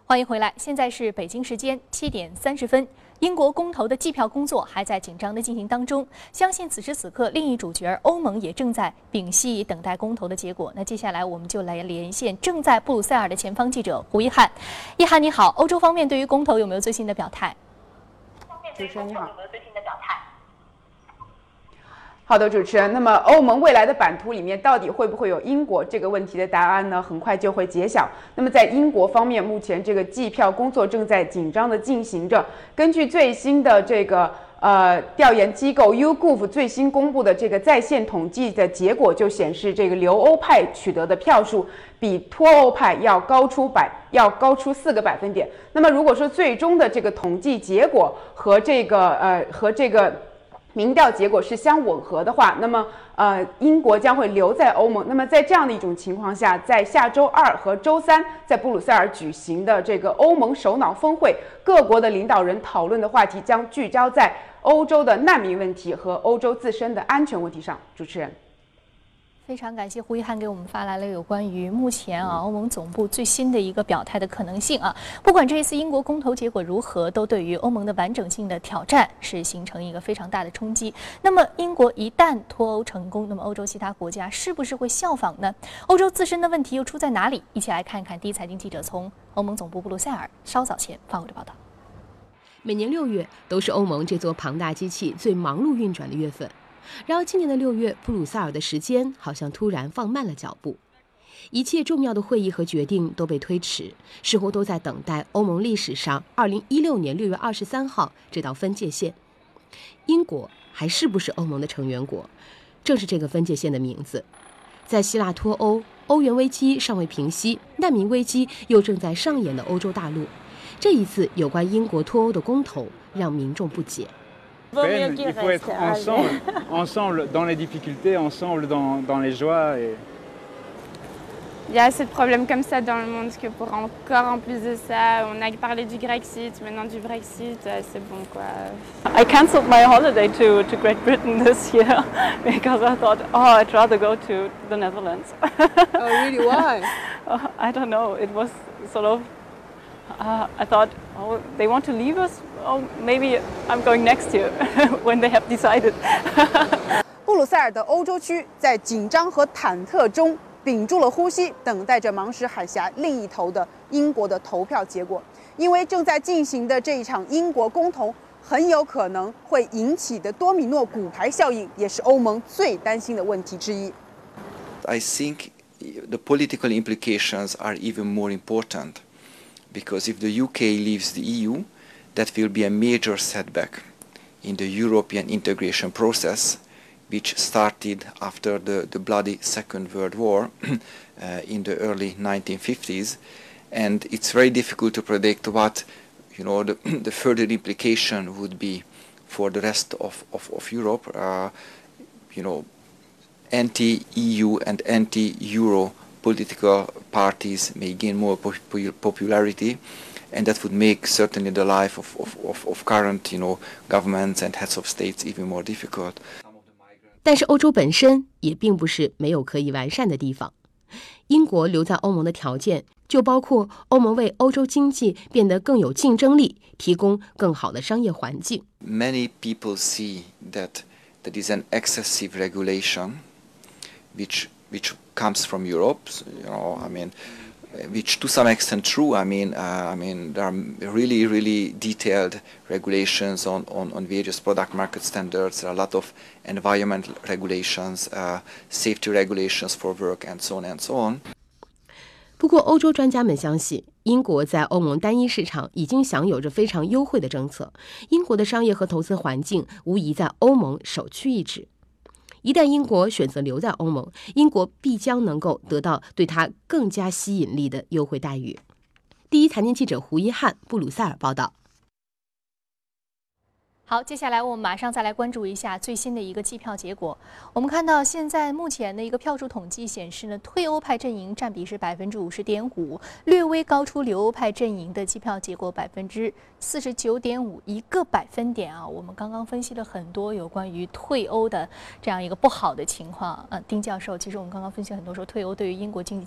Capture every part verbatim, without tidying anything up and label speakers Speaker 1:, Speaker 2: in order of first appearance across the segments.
Speaker 1: 欢迎回来，现在是北京时间七点三十分。英国公投的计票工作还在紧张的进行当中，相信此时此刻另一主角欧盟也正在屏息等待公投的结果。那接下来我们就来连线正在布鲁塞尔的前方记者胡一翰。一翰你好，欧洲方面对于公投有没有最新的表态？
Speaker 2: 主持人你好。好的，主持人。那么欧盟未来的版图里面到底会不会有英国这个问题的答案呢？很快就会揭晓。那么在英国方面，目前这个计票工作正在紧张的进行着。根据最新的这个呃调研机构 YouGov 最新公布的这个在线统计的结果，就显示这个留欧派取得的票数比脱欧派要高出百要高出四个百分点。那么如果说最终的这个统计结果和这个呃和这个民调结果是相吻合的话，那么呃，英国将会留在欧盟。那么在这样的一种情况下，在下周二和周三在布鲁塞尔举行的这个欧盟首脑峰会，各国的领导人讨论的话题将聚焦在欧洲的难民问题和欧洲自身的安全问题上。主持人。
Speaker 1: 非常感谢胡一翰给我们发来了有关于目前啊欧盟总部最新的一个表态的可能性啊。不管这一次英国公投结果如何，都对于欧盟的完整性的挑战是形成一个非常大的冲击。那么英国一旦脱欧成功，那么欧洲其他国家是不是会效仿呢？欧洲自身的问题又出在哪里？一起来看看第一财经记者从欧盟总部布鲁塞尔稍早前发回的报道。
Speaker 3: 每年六月都是欧盟这座庞大机器最忙碌运转的月份。然而今年的六月，布鲁塞尔的时间好像突然放慢了脚步，一切重要的会议和决定都被推迟，似乎都在等待欧盟历史上二零一六年六月二十三号这道分界线。英国还是不是欧盟的成员国，正是这个分界线的名字。在希腊脱欧、欧元危机尚未平息、难民危机又正在上演的欧洲大陆，这一次有关英国脱欧的公投让民众不解。
Speaker 4: Il faut être ensemble, ensemble dans les difficultés, ensemble dans, dans les joies. Et...
Speaker 5: Il y a assez de problèmes comme ça dans le monde que pour encore en plus de ça, on a parlé du Grexit, maintenant du Brexit, c'est bon quoi.
Speaker 6: I cancelled my holiday to, to Great Britain this year because I thought, oh, I'd rather go to the Netherlands.
Speaker 2: Oh, really? Why?
Speaker 6: uh, I don't know. It was sort of, uh, I thought, oh, they want to leave us? Oh, maybe I'm going next year when they have decided.
Speaker 2: 布鲁塞尔的欧洲区在紧张和忐忑中屏住了呼吸，等待着芒什海峡另一头的英国的投票结果。因为正在进行的这一场英国公投很有可能会引起的多米诺骨牌效应，也是欧盟最担心的问题之一。
Speaker 7: I think the political implications are even more important, because if the U K leaves the E U, that will be a major setback in the European integration process, which started after the, the bloody Second World War uh, in the early nineteen fifties. And it's very difficult to predict what, you know, the, the further implication would be for the rest of, of, of Europe. Uh, you know, anti-E U and anti-Euro political parties may gain more popularity, and that would make certainly the life of, of, of current, you know, governments and heads of states even more difficult.
Speaker 3: 但是欧洲本身也并不是没有可以完善的地方。英国留在欧盟的条件就包括欧盟为欧洲经济变得更有竞争力提供更好的商业环境。
Speaker 7: Many people see that there is an excessive regulation which which comes from Europe. You know, I mean, which to some extent true. I mean, uh, I mean, there are really, really detailed regulations on, on, on various product market standards. There are a lot of environmental regulations, uh, safety regulations for work, and so on and so on.
Speaker 3: 不过，欧洲专家们相信，英国在欧盟单一市场已经享有着非常优惠的政策，英国的商业和投资环境无疑在欧盟首屈一指。一旦英国选择留在欧盟，英国必将能够得到对它更加吸引力的优惠待遇。第一财经记者胡一翰，布鲁塞尔报道。
Speaker 1: 好，接下来我们马上再来关注一下最新的一个计票结果。我们看到现在目前的一个票数统计显示呢，退欧派阵营占比是百分之五十点五，略微高出留欧派阵营的计票结果百分之四十九点五，一个百分点啊。我们刚刚分析了很多有关于退欧的这样一个不好的情况。呃，丁教授，其实我们刚刚分析很多说，退欧对于英国经济将会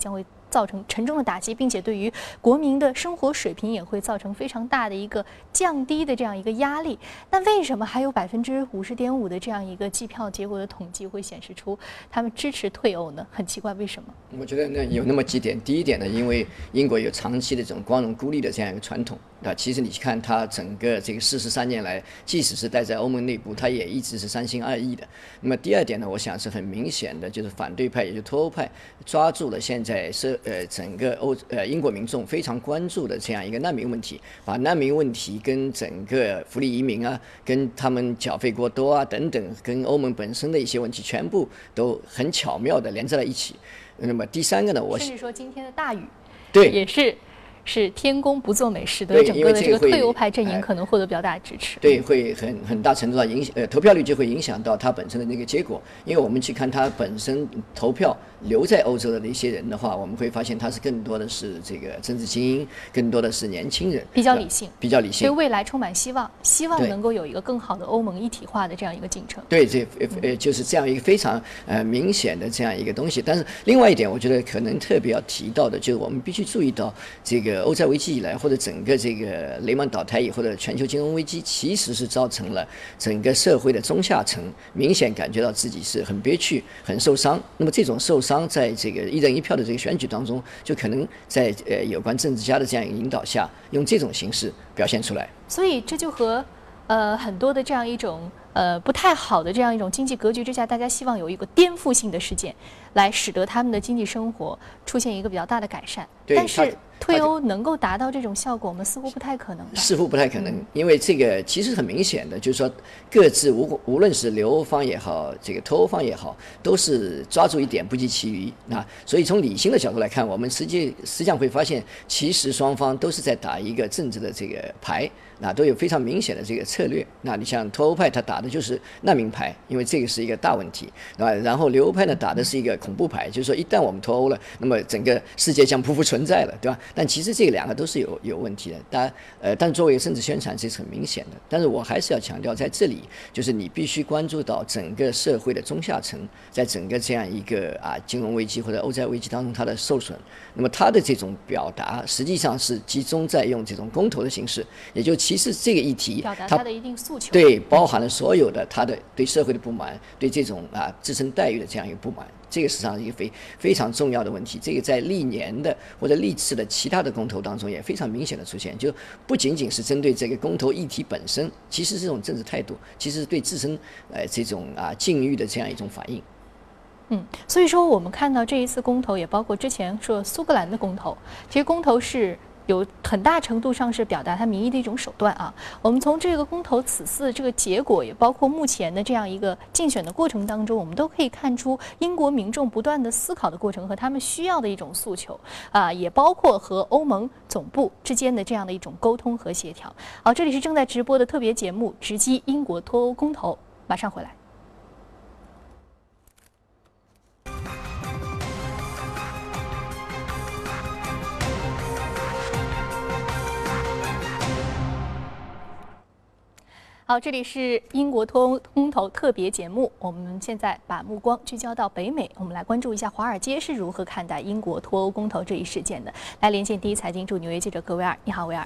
Speaker 1: 造成沉重的打击，并且对于国民的生活水平也会造成非常大的一个降低的这样一个压力。那为什么还有百分之五十点五的这样一个计票结果的统计会显示出他们支持退欧呢？很奇怪，为什么？
Speaker 8: 我觉得呢有那么几点。第一点呢，因为英国有长期的这种光荣孤立的这样一个传统。那其实你看它整个这个四十三年来，即使是待在欧盟内部，它也一直是三心二意的。那么第二点呢，我想是很明显的，就是反对派，也就是脱欧派，抓住了现在是呃整个欧呃英国民众非常关注的这样一个难民问题，把难民问题跟整个福利移民啊，跟他们缴费过多啊等等，跟欧盟本身的一些问题，全部都很巧妙的连在了一起。那么第三个呢，我
Speaker 1: 甚至说今天的大雨，
Speaker 8: 对，
Speaker 1: 也是。是天公不作美，使得整个的这个退欧派阵营可能获得比较大的支持。
Speaker 8: 对，会很很大程度上影响，呃，投票率就会影响到它本身的那个结果。因为我们去看它本身投票留在欧洲的那些人的话，我们会发现它是更多的是这个政治精英，更多的是年轻人，
Speaker 1: 比较理性，
Speaker 8: 比较理性，
Speaker 1: 对未来充满希望，希望能够有一个更好的欧盟一体化的这样一个进程。
Speaker 8: 对，这呃就是这样一个非常呃明显的这样一个东西。但是另外一点，我觉得可能特别要提到的，就是我们必须注意到这个欧债危机以来，或者整个这个雷曼倒台以后的全球金融危机，其实是造成了整个社会的中下层明显感觉到自己是很憋屈、很受伤。那么这种受伤，在这个一人一票的这个选举当中，就可能在呃有关政治家的这样一个引导下，用这种形式表现出来。
Speaker 1: 所以这就和呃很多的这样一种呃不太好的这样一种经济格局之下，大家希望有一个颠覆性的事件，来使得他们的经济生活出现一个比较大的改善。但是退欧能够达到这种效果，我们似乎不太可能吧？
Speaker 8: 似乎不太可能，因为这个其实很明显的，就是说各自无无论是留欧方也好，这个脱欧方也好，都是抓住一点不计其余啊。所以从理性的角度来看，我们实际实际上会发现，其实双方都是在打一个政治的这个牌，那都有非常明显的这个策略。那你像脱欧派他打的就是难民牌，因为这个是一个大问题，对吧？然后留欧派呢打的是一个恐怖牌，就是说一旦我们脱欧了，那么整个世界将匍匐存在了，对吧？但其实这两个都是有有问题的，当然，呃，但作为政治宣传这是很明显的。但是我还是要强调，在这里就是你必须关注到整个社会的中下层，在整个这样一个啊金融危机或者欧债危机当中它的受损。那么它的这种表达实际上是集中在用这种公投的形式，也就其实这个议题
Speaker 1: 表达它的一定诉求，
Speaker 8: 对，包含了所有的他的对社会的不满，对这种啊自身待遇的这样一个不满。这个实际上是一个非非常重要的问题，这个在历年的或者历次的其他的公投当中也非常明显的出现，就不仅仅是针对这个公投议题本身，其实这种政治态度其实是对自身呃这种啊境遇的这样一种反应。
Speaker 1: 嗯，所以说我们看到这一次公投，也包括之前说苏格兰的公投，其实公投是有很大程度上是表达他民意的一种手段啊。我们从这个公投此次这个结果，也包括目前的这样一个竞选的过程当中，我们都可以看出英国民众不断的思考的过程和他们需要的一种诉求啊，也包括和欧盟总部之间的这样的一种沟通和协调。好，这里是正在直播的特别节目《直击英国脱欧公投》，马上回来。好，这里是英国脱欧公投特别节目。我们现在把目光聚焦到北美，我们来关注一下华尔街是如何看待英国脱欧公投这一事件的。来连线第一财经驻纽约记者葛维尔，你好，维尔。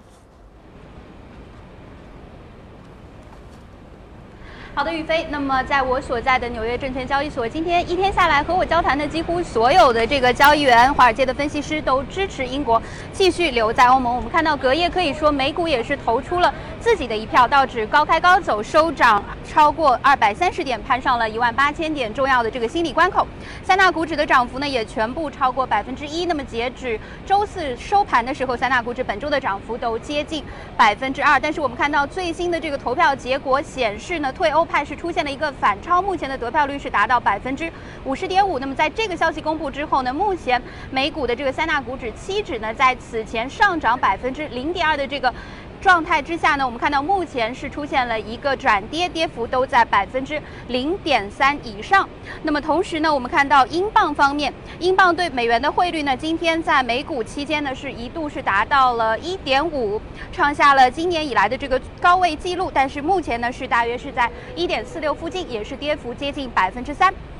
Speaker 9: 好的，宇飞。那么，在我所在的纽约证券交易所，今天一天下来和我交谈的几乎所有的这个交易员、华尔街的分析师都支持英国继续留在欧盟。我们看到隔夜可以说美股也是投出了自己的一票，道指高开高走，收涨超过二百三十点，攀上了一万八千点重要的这个心理关口。三大股指的涨幅呢也全部超过百分之一。那么截止周四收盘的时候，三大股指本周的涨幅都接近百分之二。但是我们看到最新的这个投票结果显示呢，退欧派是出现了一个反超，目前的得票率是达到百分之五十点五。那么在这个消息公布之后呢，目前美股的这个三大股指期指呢，在此前上涨百分之零点二的这个状态之下呢，我们看到目前是出现了一个转跌，跌幅都在百分之零点三以上。那么同时呢，我们看到英镑方面，英镑对美元的汇率呢，今天在美股期间呢是一度是达到了一点五，创下了今年以来的这个高位记录，但是目前呢是大约是在一点四六附近，也是跌幅接近百分之三。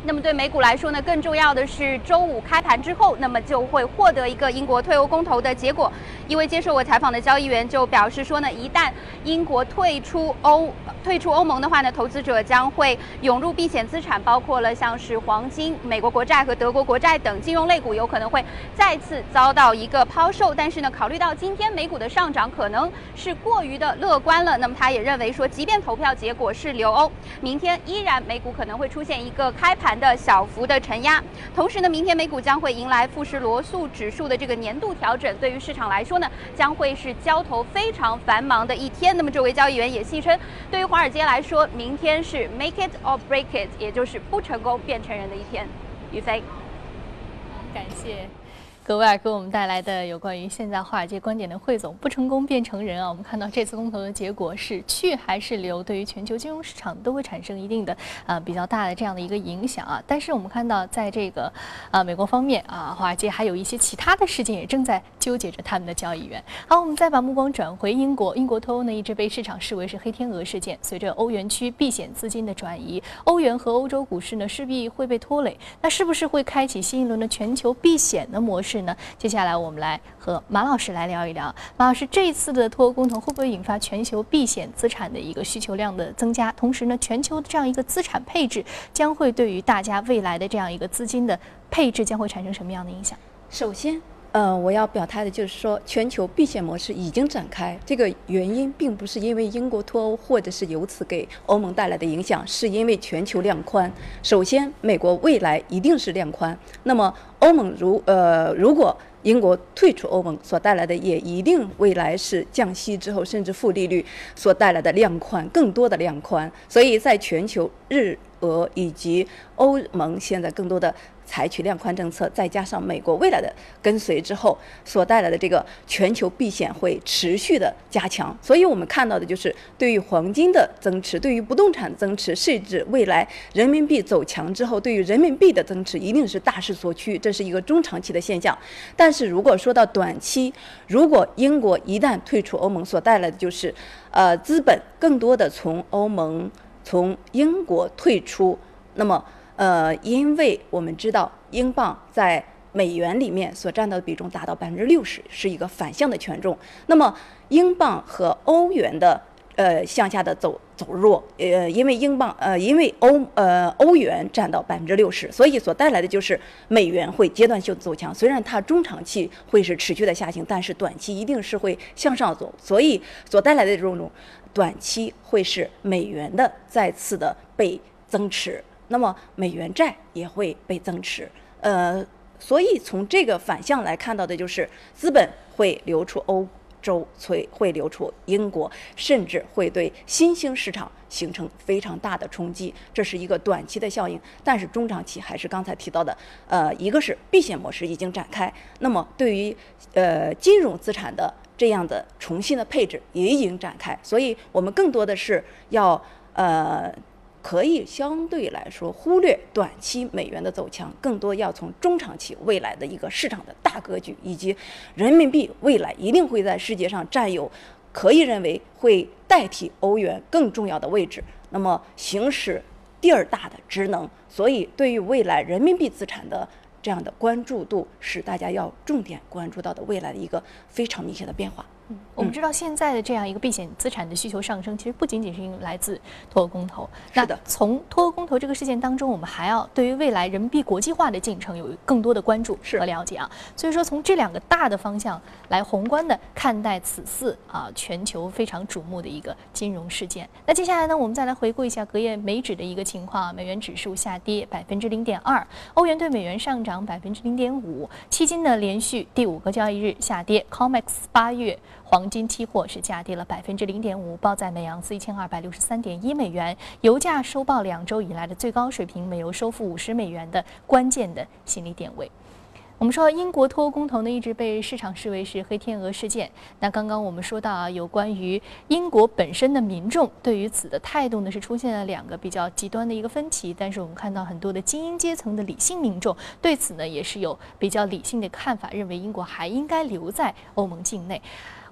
Speaker 9: 那么对美股来说呢，更重要的是周五开盘之后，那么就会获得一个英国退欧公投的结果。一位接受我采访的交易员就表示说呢，一旦英国退出欧退出欧盟的话呢，投资者将会涌入避险资产，包括了像是黄金、美国国债和德国国债等金融类股，有可能会再次遭到一个抛售。但是呢，考虑到今天美股的上涨可能是过于的乐观了，那么他也认为说，即便投票结果是留欧，明天依然美股可能会出现一个开盘的小幅的承压。同时呢，明天美股将会迎来富时罗素指数的这个年度调整，对于市场来说呢，将会是交投非常繁忙的一天。那么这位交易员也戏称，对于华尔街来说，明天是 make it or break it， 也就是不成功变成人的一天。于飞，
Speaker 1: 感谢格威尔给我们带来的有关于现在华尔街观点的汇总。不成功变成人啊，我们看到这次公投的结果是去还是留，对于全球金融市场都会产生一定的呃比较大的这样的一个影响啊。但是我们看到在这个呃美国方面啊，华尔街还有一些其他的事件也正在纠结着他们的交易员。好，我们再把目光转回英国，英国脱欧呢一直被市场视为是黑天鹅事件，随着欧元区避险资金的转移，欧元和欧洲股市呢势必会被拖累。那是不是会开启新一轮的全球避险的模式呢？接下来我们来和马老师来聊一聊。马老师，这一次的脱欧公投会不会引发全球避险资产的一个需求量的增加？同时呢，全球的这样一个资产配置将会对于大家未来的这样一个资金的配置将会产生什么样的影响？
Speaker 10: 首先，呃，我要表态的就是说，全球避险模式已经展开。这个原因并不是因为英国脱欧，或者是由此给欧盟带来的影响，是因为全球量宽。首先，美国未来一定是量宽，那么欧盟如呃如果英国退出欧盟所带来的，也一定未来是降息之后甚至负利率所带来的量宽，更多的量宽。所以在全球日俄以及欧盟现在更多的采取量宽政策，再加上美国未来的跟随之后所带来的这个全球避险会持续的加强。所以我们看到的就是对于黄金的增持，对于不动产增持，甚至未来人民币走强之后对于人民币的增持一定是大势所趋，这是一个中长期的现象。但是如果说到短期，如果英国一旦退出欧盟所带来的就是呃资本更多的从欧盟从英国退出，那么呃，因为我们知道英镑在美元里面所占到的比重达到百分之六十，是一个反向的权重。那么英镑和欧元的呃向下的走走弱，呃，因为英镑呃因为欧呃欧元占到百分之六十，所以所带来的就是美元会阶段性走强。虽然它中长期会是持续的下行，但是短期一定是会向上走，所以所带来的这种短期会是美元的再次的被增持。那么美元债也会被增持，呃，所以从这个反向来看到的就是资本会流出欧洲，会会流出英国，甚至会对新兴市场形成非常大的冲击。这是一个短期的效应，但是中长期还是刚才提到的，呃，一个是避险模式已经展开，那么对于呃金融资产的这样的重新的配置也已经展开，所以我们更多的是要呃。可以相对来说忽略短期美元的走强，更多要从中长期未来的一个市场的大格局，以及人民币未来一定会在世界上占有可以认为会代替欧元更重要的位置，那么行使第二大的职能。所以对于未来人民币资产的这样的关注度，是大家要重点关注到的未来的一个非常明显的变化。
Speaker 1: 嗯，我们知道现在的这样一个避险资产的需求上升，其实不仅仅是因为来自脱欧公投。
Speaker 10: 是的，
Speaker 1: 从脱欧公投这个事件当中，我们还要对于未来人民币国际化的进程有更多的关注和了解啊。所以说，从这两个大的方向来宏观的看待此次啊全球非常瞩目的一个金融事件。那接下来呢，我们再来回顾一下隔夜美指的一个情况，美元指数下跌百分之零点二，欧元对美元上涨百分之零点五，期金呢连续第五个交易日下跌 ，COMEX 八月黄金期货是下跌了百分之零点五，报在每盎司一千二百六十三点一美元。油价收报两周以来的最高水平，每油收复五十美元的关键的心理点位。我们说英国脱欧公投呢，一直被市场视为是黑天鹅事件。那刚刚我们说到啊，有关于英国本身的民众对于此的态度呢，是出现了两个比较极端的一个分歧。但是我们看到很多的精英阶层的理性民众对此呢，也是有比较理性的看法，认为英国还应该留在欧盟境内。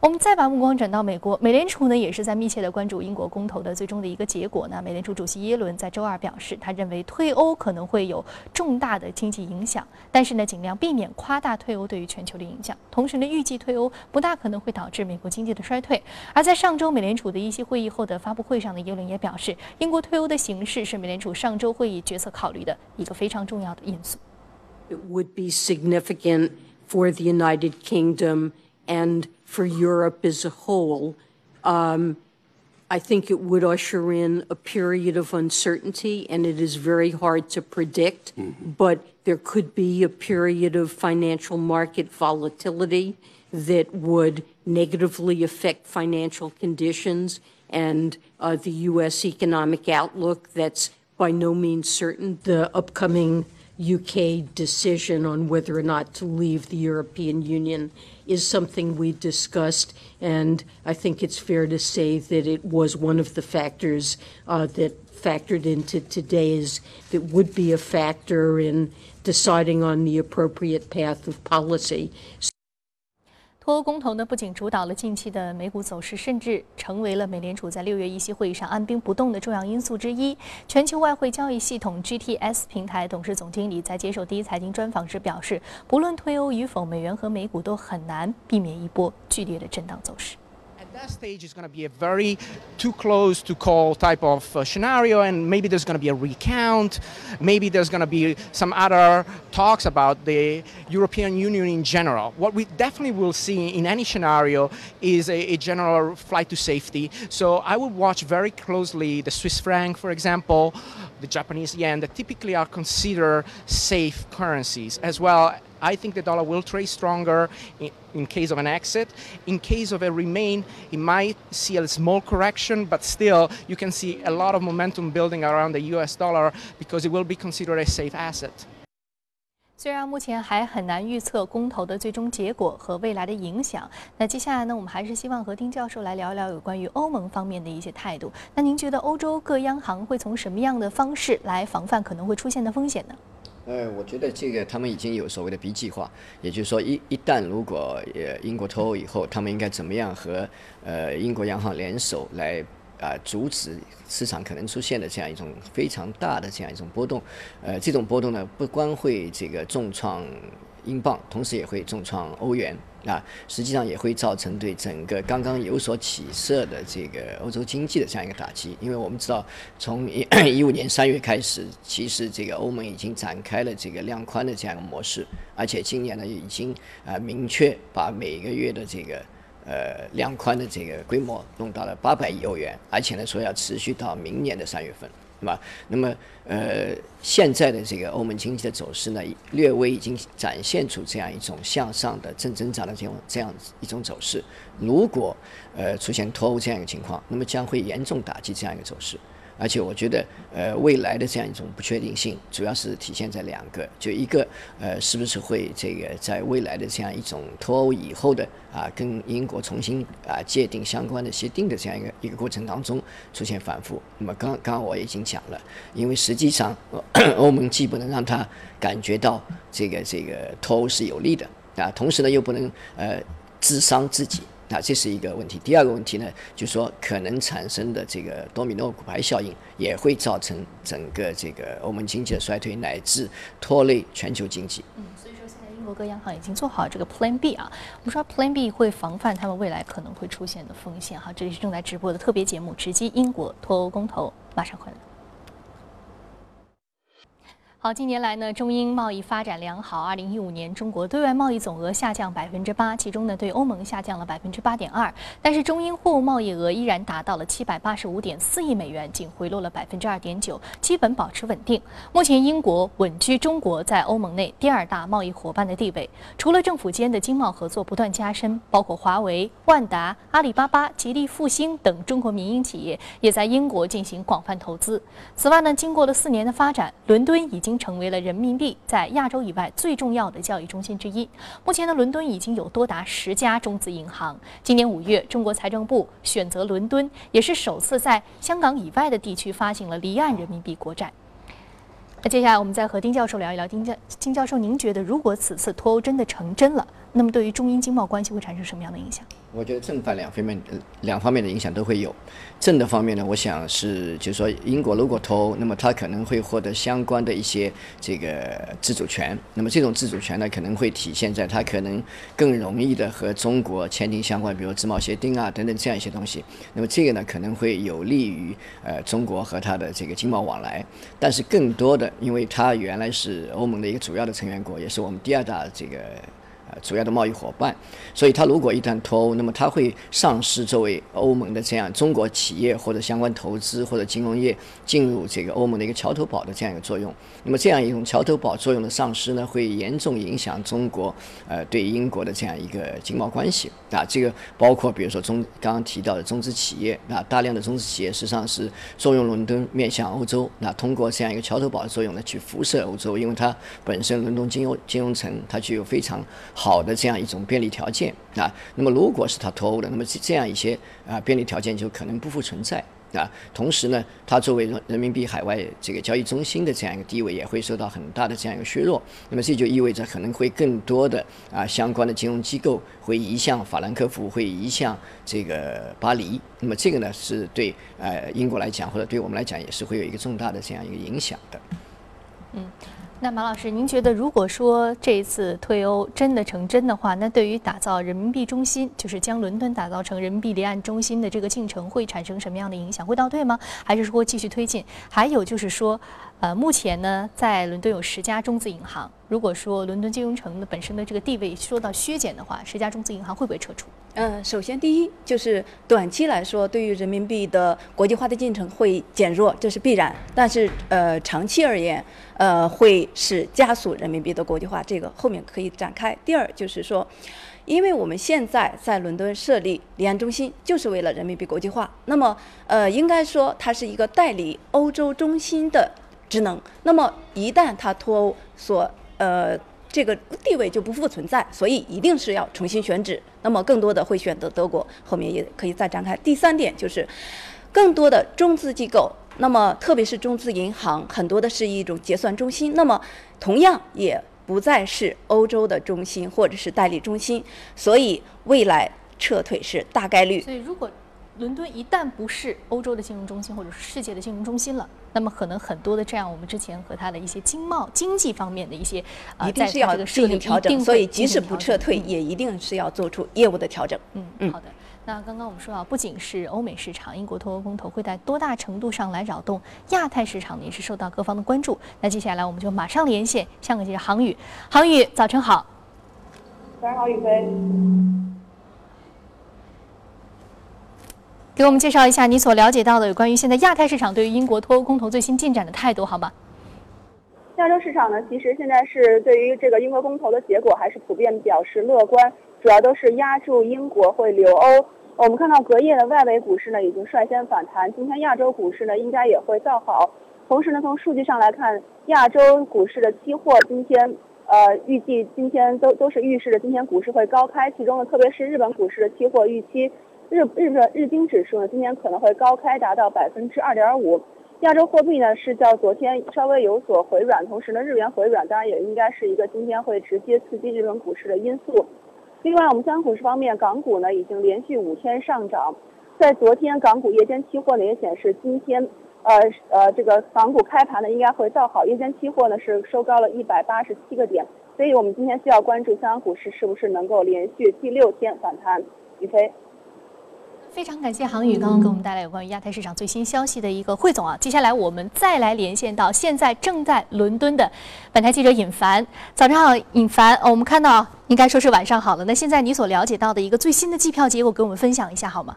Speaker 1: 我们再把目光转到美国，美联储呢也是在密切的关注英国公投的最终的一个结果呢。美联储主席耶伦在周二表示，他认为退欧可能会有重大的经济影响，但是呢尽量避免夸大退欧对于全球的影响。同时呢，预计退欧不大可能会导致美国经济的衰退。而在上周美联储的议息会议后的发布会上呢，耶伦也表示，英国退欧的形势是美联储上周会议决策考虑的一个非常重要的因素。
Speaker 11: It would be significant for the United Kingdom and for Europe as a whole. Um, I think it would usher in a period of uncertainty, and it is very hard to predict, mm-hmm. but there could be a period of financial market volatility that would negatively affect financial conditions and uh, the U S economic outlook. That's by no means certain. The upcoming U K decision on whether or not to leave the European Union is something we discussed, and I think it's fair to say that it was one of the factors uh, that factored into today's, that would be a factor in deciding on the appropriate path of policy.
Speaker 1: 脱欧公投呢，不仅主导了近期的美股走势，甚至成为了美联储在六月议息会议上按兵不动的重要因素之一。全球外汇交易系统 G T S 平台董事总经理在接受第一财经专访时表示，不论退欧与否，美元和美股都很难避免一波剧烈的震荡走势。
Speaker 12: That stage is going to be a very too close to call type of uh, scenario, and maybe there's going to be a recount, maybe there's going to be some other talks about the European Union in general. What we definitely will see in any scenario is a, a general flight to safety. So I would watch very closely the Swiss franc, for example, the Japanese yen, that typically are considered safe currencies as well. I think the dollar will trade stronger in, in case of an exit. In case of a remain, it might see a small correction, but still you can see a lot of momentum building around the U S dollar because it will be considered a safe asset.
Speaker 1: 虽然目前还很难预测公投的最终结果和未来的影响，那接下来呢，我们还是希望和丁教授来聊一聊有关于欧盟方面的一些态度。那您觉得欧洲各央行会从什么样的方式来防范可能会出现的风险呢？
Speaker 8: 呃，我觉得这个他们已经有所谓的 B 计划，也就是说一一旦如果呃英国脱欧以后，他们应该怎么样和呃英国央行联手来啊、呃、阻止市场可能出现的这样一种非常大的这样一种波动。呃，这种波动呢，不光会这个重创英镑，同时也会重创欧元。啊，实际上也会造成对整个刚刚有所起色的这个欧洲经济的这样一个打击，因为我们知道，从一五年三月开始，其实这个欧盟已经展开了这个量宽的这样一个模式，而且今年呢已经啊、呃、明确把每个月的这个呃量宽的这个规模弄到了八百亿欧元，而且呢说要持续到明年的三月份。对吧？那么，呃，现在的这个欧盟经济的走势呢，略微已经展现出这样一种向上的正增长的这种这样一种走势。如果呃出现脱欧这样一个情况，那么将会严重打击这样一个走势。而且我觉得，呃，未来的这样一种不确定性，主要是体现在两个，就一个，呃，是不是会这个在未来的这样一种脱欧以后的啊，跟英国重新啊界定相关的协定的这样一个一个过程当中出现反复。那么刚刚刚我已经讲了，因为实际上欧盟既不能让他感觉到这个这个脱欧是有利的啊，同时呢又不能呃自伤自己。那这是一个问题。第二个问题呢，就是说可能产生的这个多米诺骨牌效应，也会造成整个这个欧盟经济的衰退，乃至拖累全球经济。
Speaker 1: 嗯，所以说现在英国各央行已经做好这个 Plan B 啊。我们说 Plan B 会防范他们未来可能会出现的风险哈。这里是正在直播的特别节目《直击英国脱欧公投》，马上回来。好，近年来呢，中英贸易发展良好。二零一五年，中国对外贸易总额下降百分之八，其中呢，对欧盟下降了百分之八点二。但是中英货物贸易额依然达到了七百八十五点四亿美元，仅回落了百分之二点九，基本保持稳定。目前，英国稳居中国在欧盟内第二大贸易伙伴的地位。除了政府间的经贸合作不断加深，包括华为、万达、阿里巴巴、吉利复兴等中国民营企业也在英国进行广泛投资。此外呢，经过了四年的发展，伦敦已经成为了人民币在亚洲以外最重要的交易中心之一。目前的伦敦已经有多达十家中资银行。今年五月，中国财政部选择伦敦，也是首次在香港以外的地区发行了离岸人民币国债。 那接下来我们再和丁教授聊一聊。丁教丁教授，您觉得如果此次脱欧真的成真了，那么对于中英经贸关系会产生什么样的影响？
Speaker 8: 我觉得正反两方面两方面的影响都会有。正的方面呢，我想是就是说，英国如果脱欧，那么它可能会获得相关的一些这个自主权。那么这种自主权呢，可能会体现在它可能更容易的和中国签订相关，比如自贸协定啊等等这样一些东西。那么这个呢，可能会有利于呃中国和它的这个经贸往来。但是更多的，因为它原来是欧盟的一个主要的成员国，也是我们第二大这个。呃，主要的贸易伙伴，所以它如果一旦脱欧，那么它会丧失作为欧盟的这样中国企业或者相关投资或者金融业进入这个欧盟的一个桥头堡的这样一个作用。那么这样一种桥头堡作用的丧失呢，会严重影响中国呃对英国的这样一个经贸关系啊。这个包括比如说中刚刚提到的中资企业啊，大量的中资企业实际上是作用伦敦面向欧洲，那通过这样一个桥头堡的作用呢，去辐射欧洲，因为它本身伦敦金融金融城它具有非常好的这样一种便利条件啊，那么如果是它脱欧的，那么这样一些啊便利条件就可能不复存在啊。同时呢，它作为人民币海外这个交易中心的这样一个地位也会受到很大的这样一个削弱。那么这就意味着可能会更多的啊相关的金融机构会移向法兰克福，会移向这个巴黎。那么这个呢是对呃英国来讲，或者对我们来讲也是会有一个重大的这样一个影响的。
Speaker 1: 嗯。那马老师，您觉得如果说这一次退欧真的成真的话，那对于打造人民币中心，就是将伦敦打造成人民币离岸中心的这个进程会产生什么样的影响？会倒退吗？还是说继续推进？还有就是说，呃，目前呢，在伦敦有十家中资银行，如果说伦敦金融城的本身的这个地位受到削减的话，十家中资银行会不会撤出？
Speaker 10: 呃，首先第一就是短期来说，对于人民币的国际化的进程会减弱，这是必然。但是呃，长期而言，呃，会是加速人民币的国际化，这个后面可以展开。第二就是说，因为我们现在在伦敦设立离岸中心，就是为了人民币国际化。那么呃，应该说它是一个代理欧洲中心的职能。那么一旦它脱欧所呃。这个地位就不复存在，所以一定是要重新选址。那么更多的会选择德国，后面也可以再展开。第三点就是，更多的中资机构，那么特别是中资银行，很多的是一种结算中心，那么同样也不再是欧洲的中心或者是代理中心，所以未来撤退是大概率。
Speaker 1: 所以如果伦敦一旦不是欧洲的金融中心或者是世界的金融中心了，那么可能很多的这样我们之前和它的一些经贸经济方面的一些
Speaker 10: 呃，一定是要进行调整，所以即使不撤退，也一定是要做出业务的调整。
Speaker 1: 嗯嗯，好的。那刚刚我们说到，不仅是欧美市场，英国脱欧公投会在多大程度上来扰动亚太市场呢？也是受到各方的关注。那接下来我们就马上连线香港记者杭宇，杭宇，早晨好。
Speaker 13: 早上好，宇飞。
Speaker 1: 给我们介绍一下你所了解到的有关于现在亚太市场对于英国脱欧公投最新进展的态度，好吗？
Speaker 13: 亚洲市场呢，其实现在是对于这个英国公投的结果还是普遍表示乐观，主要都是压住英国会留欧。我们看到隔夜的外围股市呢已经率先反弹，今天亚洲股市呢应该也会造好。同时呢，从数据上来看，亚洲股市的期货今天呃预计今天都都是预示着今天股市会高开，其中呢特别是日本股市的期货预期。日日本日经指数呢，今年可能会高开达到百分之二点五。亚洲货币呢是较昨天稍微有所回软，同时呢日元回软当然也应该是一个今天会直接刺激日本股市的因素。另外，我们香港股市方面，港股呢已经连续五天上涨，在昨天港股夜间期货呢也显示今天呃呃这个港股开盘呢应该会造好，夜间期货呢是收高了一百八十七个点，所以我们今天需要关注香港股市是不是能够连续第六天反弹。宇飞。
Speaker 1: 非常感谢杭宇刚刚给我们带来有关于亚太市场最新消息的一个汇总啊。接下来我们再来连线到现在正在伦敦的本台记者尹凡。早上好，尹凡。哦，我们看到应该说是晚上好了。那现在你所了解到的一个最新的计票结果，给我们分享一下好吗？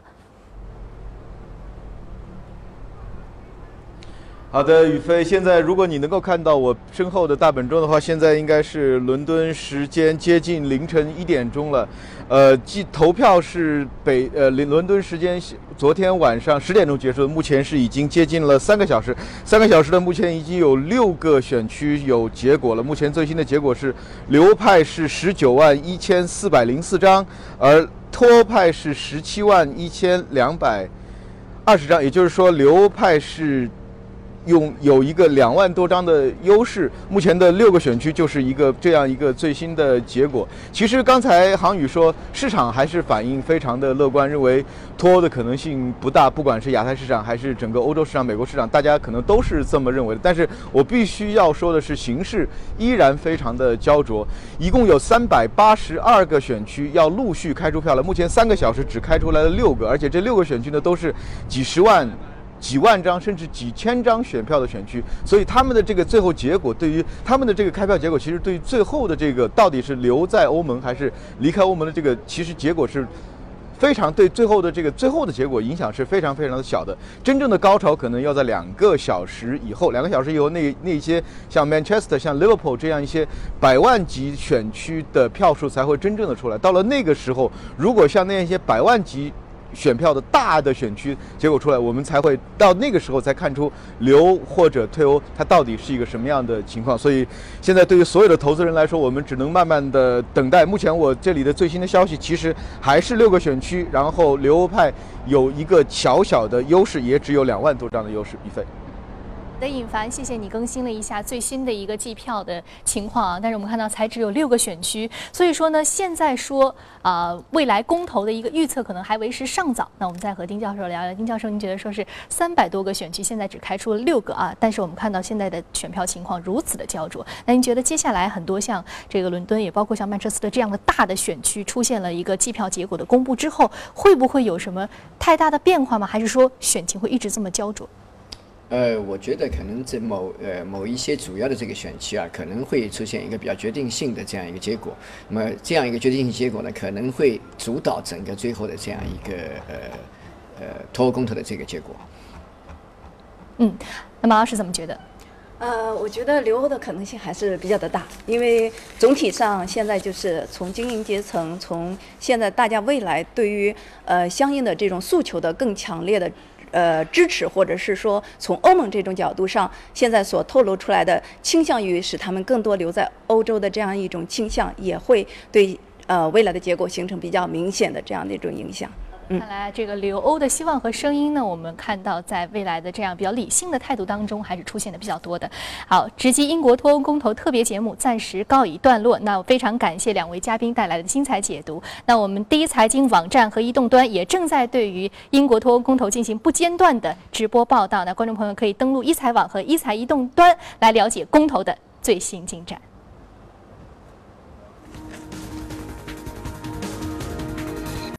Speaker 14: 好的，宇飞。现在如果你能够看到我身后的大本钟的话，现在应该是伦敦时间接近凌晨一点钟了。呃，计投票是北呃伦敦时间昨天晚上十点钟结束的，目前是已经接近了三个小时。三个小时的目前已经有六个选区有结果了。目前最新的结果是留派是十九万一千四百零四张，而脱派是十七万一千两百二十张，也就是说留派是用有一个两万多张的优势，目前的六个选区就是一个这样一个最新的结果。其实刚才航宇说，市场还是反应非常的乐观，认为脱欧的可能性不大，不管是亚太市场还是整个欧洲市场、美国市场，大家可能都是这么认为的。但是我必须要说的是，形势依然非常的焦灼，一共有三百八十二个选区要陆续开出票了，目前三个小时只开出来了六个，而且这六个选区呢都是几十万。几万张甚至几千张选票的选区，所以他们的这个最后结果，对于他们的这个开票结果，其实对于最后的这个到底是留在欧盟还是离开欧盟的这个，其实结果是非常对最后的这个最后的结果影响是非常非常的小的。真正的高潮可能要在两个小时以后，两个小时以后，那那些像 Manchester、像 Liverpool 这样一些百万级选区的票数才会真正的出来。到了那个时候，如果像那样一些百万级选票的大的选区结果出来，我们才会到那个时候才看出留或者退欧它到底是一个什么样的情况。所以现在对于所有的投资人来说，我们只能慢慢的等待。目前我这里的最新的消息其实还是六个选区，然后留欧派有一个小小的优势，也只有两万多张的优势。一飞
Speaker 1: 的尹凡，谢谢你更新了一下最新的一个计票的情况啊。但是我们看到才只有六个选区，所以说呢，现在说啊、呃，未来公投的一个预测可能还为时尚早。那我们再和丁教授聊聊，丁教授，您觉得说是三百多个选区，现在只开出了六个啊？但是我们看到现在的选票情况如此的焦灼，那您觉得接下来很多像这个伦敦，也包括像曼彻斯特这样的大的选区出现了一个计票结果的公布之后，会不会有什么太大的变化吗？还是说选情会一直这么焦灼？
Speaker 8: 呃，我觉得可能在某呃某一些主要的这个选区啊，可能会出现一个比较决定性的这样一个结果。那么这样一个决定性结果呢，可能会主导整个最后的这样一个呃呃脱欧公投的这个结果。
Speaker 1: 嗯，那马老师怎么觉得？
Speaker 10: 呃，我觉得留欧的可能性还是比较的大，因为总体上现在就是从精英阶层，从现在大家未来对于呃相应的这种诉求的更强烈的。呃，支持或者是说从欧盟这种角度上，现在所透露出来的倾向于使他们更多留在欧洲的这样一种倾向，也会对呃未来的结果形成比较明显的这样的一种影响。
Speaker 1: 看来这个留欧的希望和声音呢，我们看到在未来的这样比较理性的态度当中，还是出现的比较多的。好，直击英国脱欧公投特别节目暂时告一段落。那我非常感谢两位嘉宾带来的精彩解读。那我们第一财经网站和移动端也正在对于英国脱欧公投进行不间断的直播报道。那观众朋友可以登录一财网和一财移动端来了解公投的最新进展。